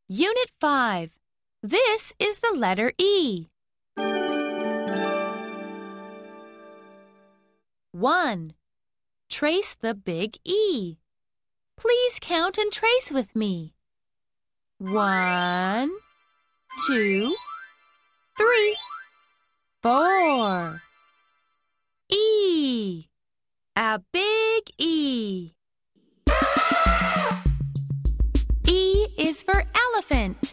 Unit 5. This is the letter E. 1. Trace the big E. Please count and trace with me. 1, 2, 3, 4. E. A big E. E is for elephant.